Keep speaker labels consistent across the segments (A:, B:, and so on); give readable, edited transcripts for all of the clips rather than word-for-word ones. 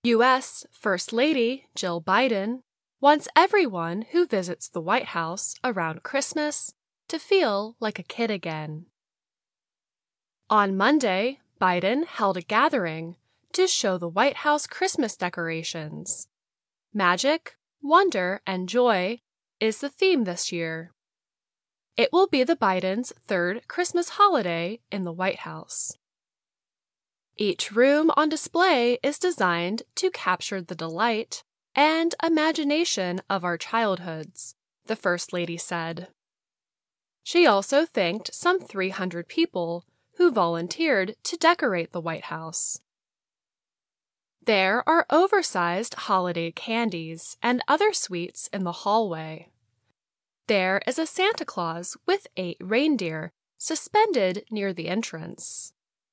A: U.S. First Lady Jill Biden wants everyone who visits the White House around Christmas to feel like a kid again. On Monday, Biden held a gathering to show the White House Christmas decorations. Magic, wonder, and joy is the theme this year. It will be the Bidens' third Christmas holiday in the White House. Each room on display is designed to capture the delight and imagination of our childhoods, the First Lady said. She also thanked some 300 people who volunteered to decorate the White House. There are oversized holiday candies and other sweets in the hallway. There is a Santa Claus with 8 reindeer suspended near the entrance.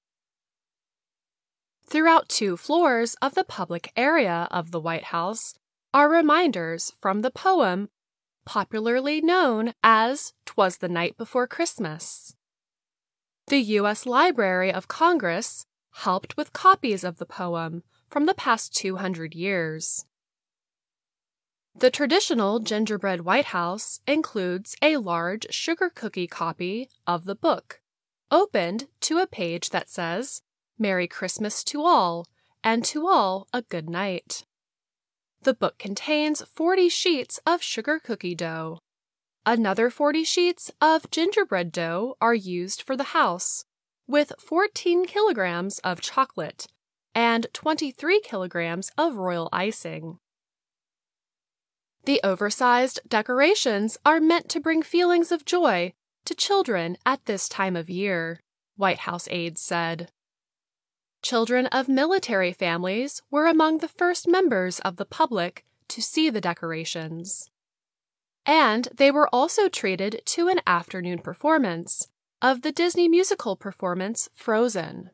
A: Throughout 2 floors of the public area of the White House are reminders from the poem popularly known as "'Twas the Night Before Christmas." The U.S. Library of Congress helped with copies of the poem from the past 200 years. The traditional gingerbread White House includes a large sugar cookie copy of the book, opened to a page that says, "Merry Christmas to all, and to all a good night." The book contains 40 sheets of sugar cookie dough. Another 40 sheets of gingerbread dough are used for the house, with 14 kilograms of chocolate and 23 kilograms of royal icing. The oversized decorations are meant to bring feelings of joy to children at this time of year, White House aides said. Children of military families were among the first members of the public to see the decorations. And they were also treated to an afternoon performance of the Disney musical performance Frozen.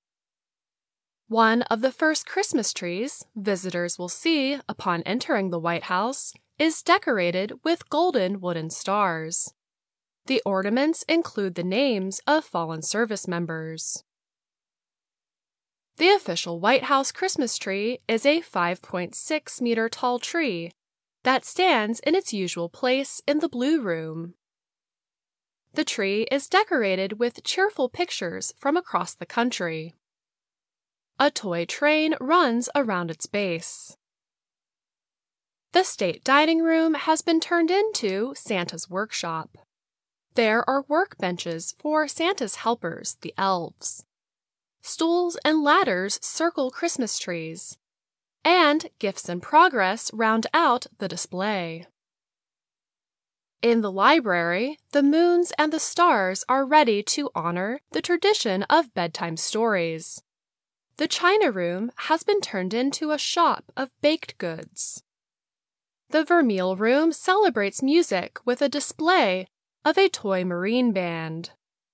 A: One of the first Christmas trees visitors will see upon entering the White House is decorated with golden wooden stars. The ornaments include the names of fallen service members. The official White House Christmas tree is a 5.6-meter tall tree that stands in its usual place in the Blue Room. The tree is decorated with cheerful pictures from across the country. A toy train runs around its base. The state dining room has been turned into Santa's workshop. There are workbenches for Santa's helpers, the elves. Stools and ladders circle Christmas trees, and gifts in progress round out the display. In the library, the moons and the stars are ready to honor the tradition of bedtime stories. The China Room has been turned into a shop of baked goods. The Vermeil Room celebrates music with a display of a toy marine band.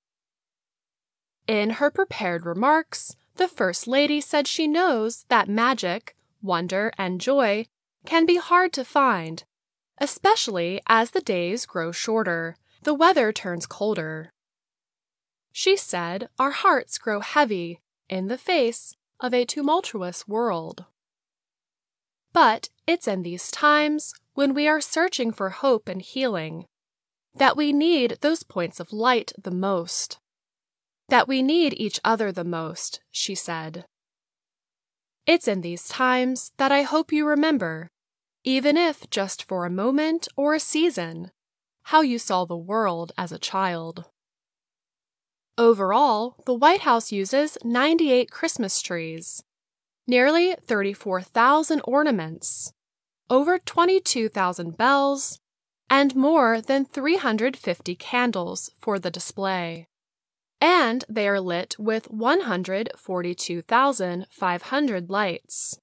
A: In her prepared remarks, the First Lady said she knows that magic, wonder, and joy can be hard to find, especially as the days grow shorter, the weather turns colder. She said our hearts grow heavy in the face of a tumultuous world. But it's in these times, when we are searching for hope and healing, that we need those points of light the most. That we need each other the most, she said. It's in these times that I hope you remember, even if just for a moment or a season, how you saw the world as a child. Overall, the White House uses 98 Christmas trees, nearly 34,000 ornaments, over 22,000 bells, and more than 350 candles for the display. And they are lit with 142,500 lights.